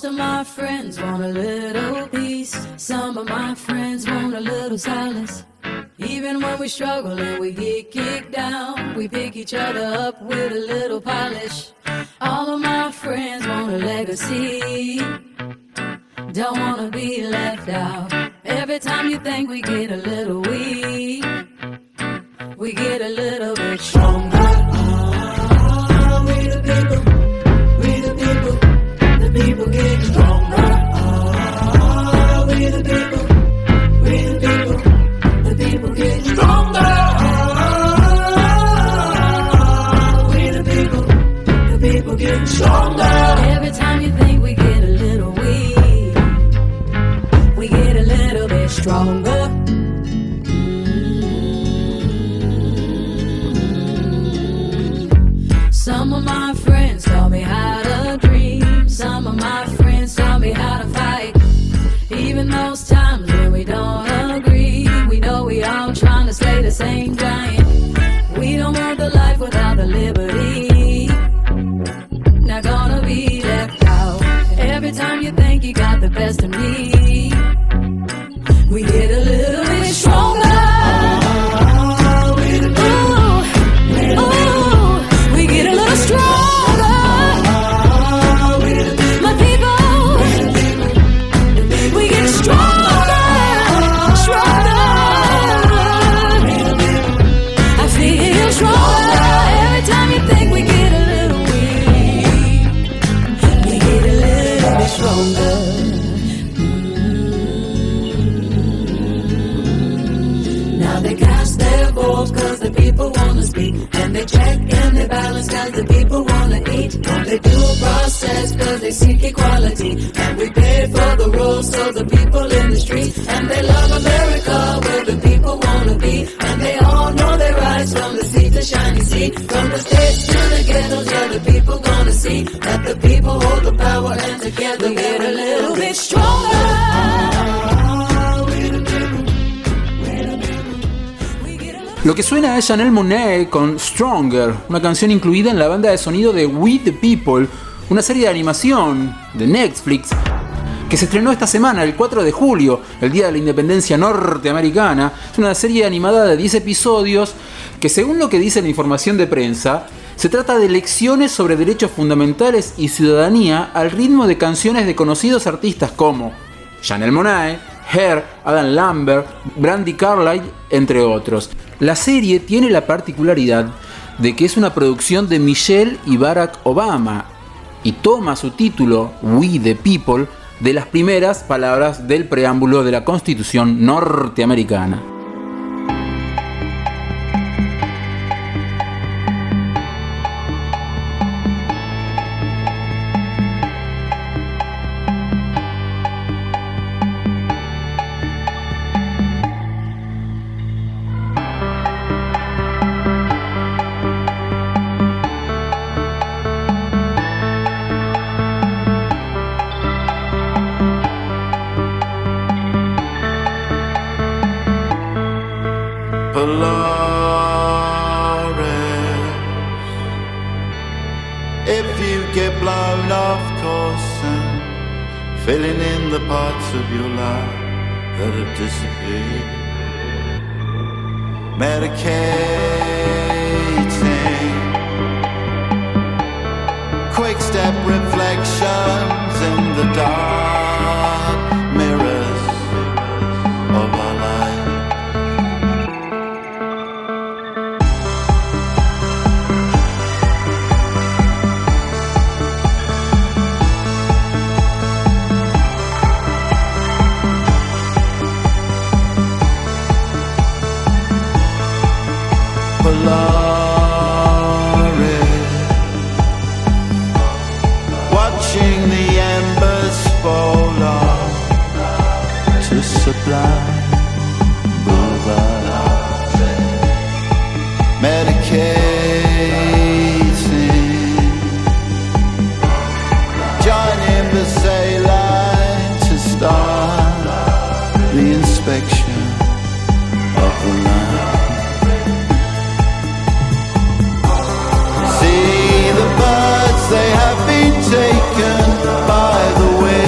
Most of my friends want a little peace. Some of my friends want a little silence. Even when we struggle and we get kicked down, we pick each other up with a little polish. All of my friends want a legacy. Don't wanna be left out. Every time you think we get a little weak, we get a little bit stronger. We the people, the people get stronger. We the people, the people get stronger. We the people get stronger. Every time you think we get a little weak, we get a little bit stronger. Some of my friends taught me how to dream. Some of my friends taught me how to fight. Even those times when we don't agree, we know we all trying to slay the same giant. We don't want the life without the liberty. Not gonna be left out. Every time you think you got the best of me, we get a little bit stronger. We get a little stronger. My people, we get stronger, stronger. I feel stronger. Every time you think we get a little weak, we get a little bit stronger. Now they cast their votes cause the people wanna speak, and they check and they balance cause the people wanna eat. And they do process cause they seek equality, and we pay for the roads so the people in the streets. And they love America where the people wanna be, and they all know their rights from the sea to shiny sea. From the states to the ghettos, yeah, the people gonna see that the people hold the power, and together we get a little bit stronger. Lo que suena es Janelle Monáe con Stronger, una canción incluida en la banda de sonido de We the People, una serie de animación de Netflix que se estrenó esta semana, el 4 de julio, el día de la independencia norteamericana. Es una serie animada de 10 episodios que, según lo que dice la información de prensa, se trata de lecciones sobre derechos fundamentales y ciudadanía al ritmo de canciones de conocidos artistas como Janelle Monáe, Her, Adam Lambert, Brandi Carlile, entre otros. La serie tiene la particularidad de que es una producción de Michelle y Barack Obama y toma su título, We the People, de las primeras palabras del preámbulo de la Constitución norteamericana. Filling in the parts of your life that have disappeared. Medicating, quick step reflections in the dark mirrors of our life. Watching the embers fall off to Sublime Boulevard, medicating, joining the sail line to start the inspection of the line. They have been taken by the wind.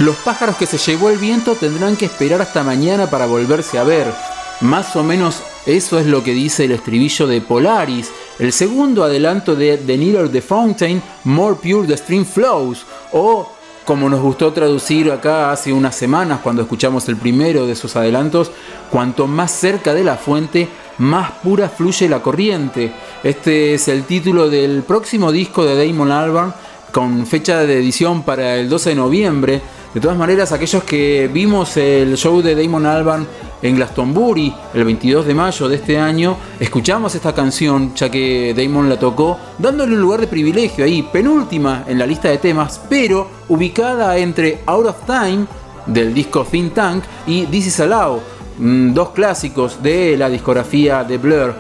Los pájaros que se llevó el viento tendrán que esperar hasta mañana para volverse a ver. Más o menos eso es lo que dice el estribillo de Polaris, el segundo adelanto de The Nearer the Fountain, More Pure the Stream Flows, o como nos gustó traducir acá hace unas semanas cuando escuchamos el primero de sus adelantos, cuanto más cerca de la fuente, más pura fluye la corriente. Este es el título del próximo disco de Damon Albarn, con fecha de edición para el 12 de noviembre. De todas maneras, aquellos que vimos el show de Damon Albarn en Glastonbury el 22 de mayo de este año, escuchamos esta canción ya que Damon la tocó, dándole un lugar de privilegio ahí, penúltima en la lista de temas, pero ubicada entre Out of Time del disco Think Tank y This Is Allowed, dos clásicos de la discografía de Blur.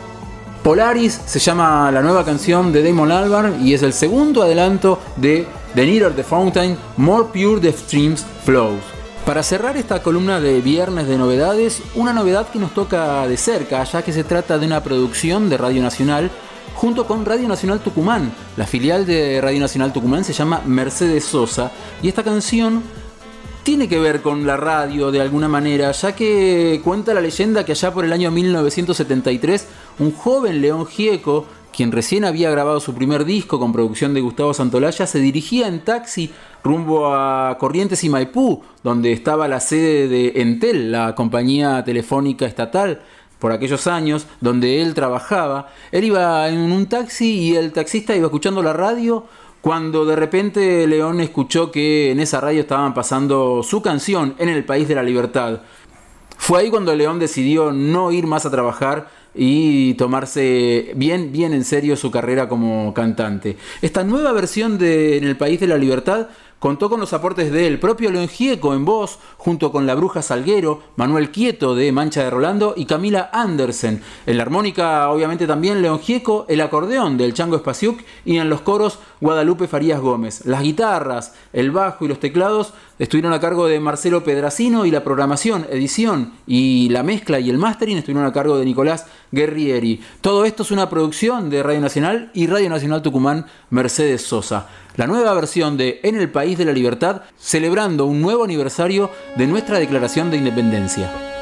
Polaris se llama la nueva canción de Damon Albarn y es el segundo adelanto de The Nearer the Fountain, More Pure the Streams Flows. Para cerrar esta columna de viernes de novedades, una novedad que nos toca de cerca, ya que se trata de una producción de Radio Nacional junto con Radio Nacional Tucumán. La filial de Radio Nacional Tucumán se llama Mercedes Sosa y esta canción tiene que ver con la radio de alguna manera, ya que cuenta la leyenda que allá por el año 1973, un joven León Gieco, quien recién había grabado su primer disco con producción de Gustavo Santolaya, se dirigía en taxi rumbo a Corrientes y Maipú, donde estaba la sede de Entel, la compañía telefónica estatal, por aquellos años, donde él trabajaba. Él iba en un taxi y el taxista iba escuchando la radio, cuando de repente León escuchó que en esa radio estaban pasando su canción, En el País de la Libertad. Fue ahí cuando León decidió no ir más a trabajar y tomarse bien en serio su carrera como cantante. Esta nueva versión de En el País de la Libertad contó con los aportes del propio León Gieco en voz, junto con la Bruja Salguero, Manuel Quieto de Mancha de Rolando y Camila Andersen. En la armónica, obviamente, también León Gieco, el acordeón del Chango Espasiuk y en los coros Guadalupe Farías Gómez. Las guitarras, el bajo y los teclados estuvieron a cargo de Marcelo Pedrasino y la programación, edición y la mezcla y el mastering estuvieron a cargo de Nicolás Guerrieri. Todo esto es una producción de Radio Nacional y Radio Nacional Tucumán Mercedes Sosa. La nueva versión de En el País de la Libertad, celebrando un nuevo aniversario de nuestra Declaración de Independencia.